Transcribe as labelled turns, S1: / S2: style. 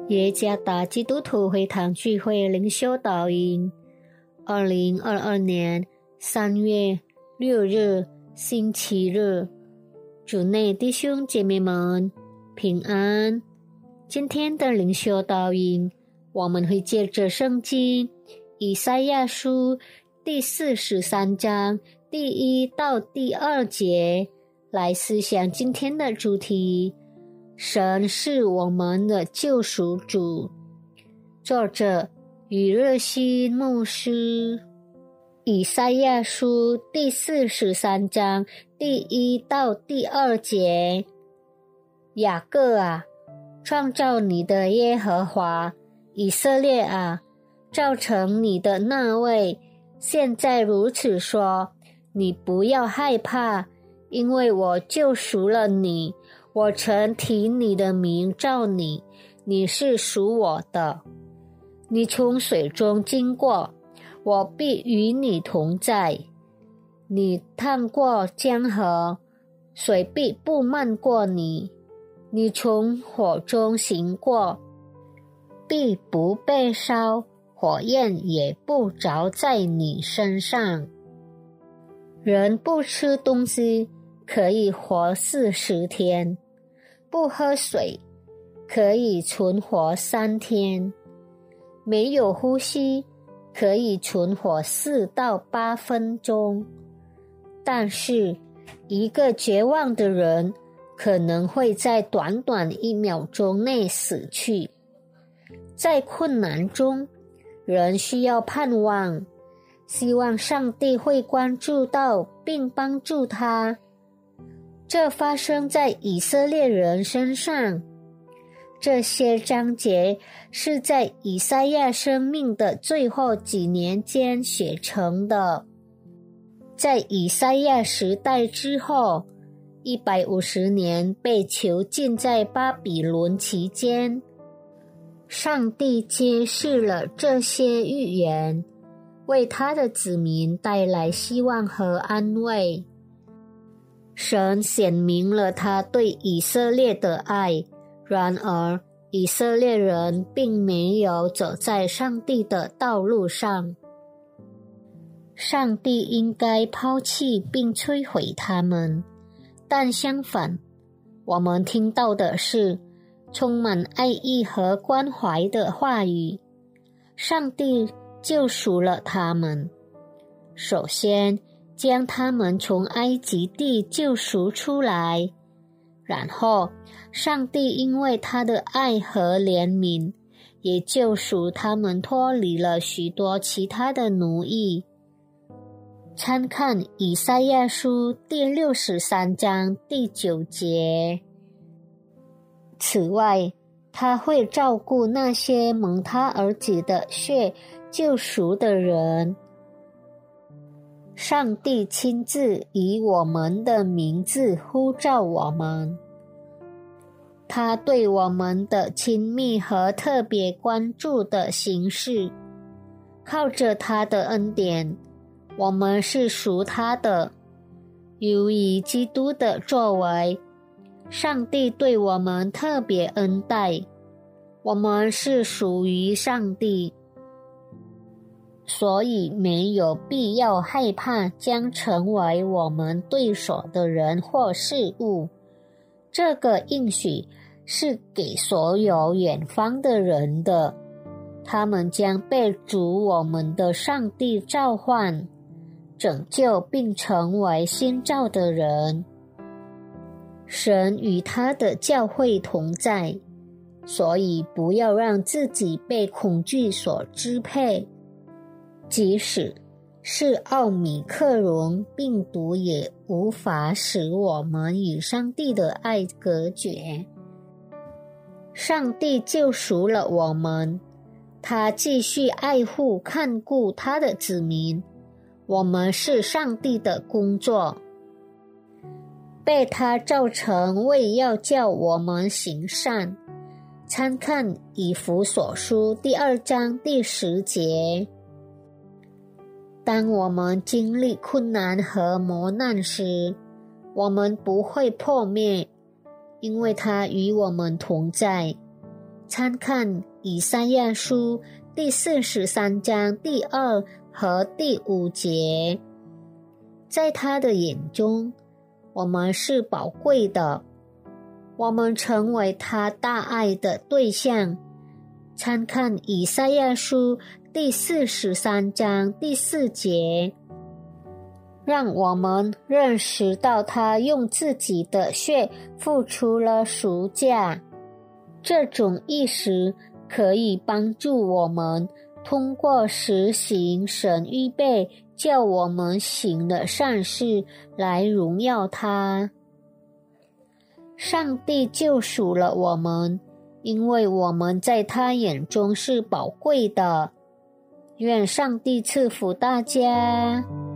S1: 耶加达基督徒会堂聚会灵修导引2022年3月6日星期日，主内弟兄姐妹们平安。今天的灵修导引，我们会借着圣经以赛亚书第43章第1到第2节来思想今天的主题，神是我们的救赎主。作者余热心牧师。以赛亚书第43章第1到第2节，雅各啊，创造你的耶和华，以色列啊，造成你的那位，现在如此说，你不要害怕，因为我救赎了你，我曾提你的名召你，你是属我的。你从水中经过，我必与你同在。你趟过江河，水必不漫过你。你从火中行过，必不被烧，火焰也不着在你身上。人不吃东西可以活40天，不喝水可以存活3天，没有呼吸可以存活4到8分钟。但是一个绝望的人可能会在短短1秒钟内死去。在困难中，人需要盼望，希望上帝会关注到并帮助他。这发生在以色列人身上。这些章节是在以赛亚生命的最后几年间写成的。在以赛亚时代之后150年被囚禁在巴比伦期间，上帝揭示了这些预言，为他的子民带来希望和安慰。神显明了他对以色列的爱，然而以色列人并没有走在上帝的道路上。上帝应该抛弃并摧毁他们，但相反，我们听到的是充满爱意和关怀的话语。上帝救赎了他们，首先将他们从埃及地救赎出来，然后上帝因为他的爱和怜悯，也救赎他们脱离了许多其他的奴役。参看以赛亚书第63章第9节。此外，他会照顾那些蒙他儿子的血救赎的人。上帝亲自以我们的名字呼召我们。他对我们的亲密和特别关注的形式，靠着他的恩典，我们是属他的。由于基督的作为，上帝对我们特别恩待，我们是属于上帝，所以没有必要害怕将成为我们对手的人或事物。这个应许是给所有远方的人的，他们将被主我们的上帝召唤，拯救并成为新造的人。神与他的教会同在，所以不要让自己被恐惧所支配。即使是奥米克戎病毒也无法使我们与上帝的爱隔绝。上帝救赎了我们，他继续爱护看顾他的子民，我们是上帝的工作，被他造成为要叫我们行善。参看以弗所书第2章第10节。当我们经历困难和磨难时，我们不会破灭，因为他与我们同在。 参看以赛亚书第43章第2和第5节。在他的眼中，我们是宝贵的，我们成为他大爱的对象。参看以赛亚书第43章第4节，让我们认识到他用自己的血付出了赎价。这种意识可以帮助我们通过实行神预备叫我们行的善事来荣耀他。上帝救赎了我们，因为我们在他眼中是宝贵的。愿上帝赐福大家。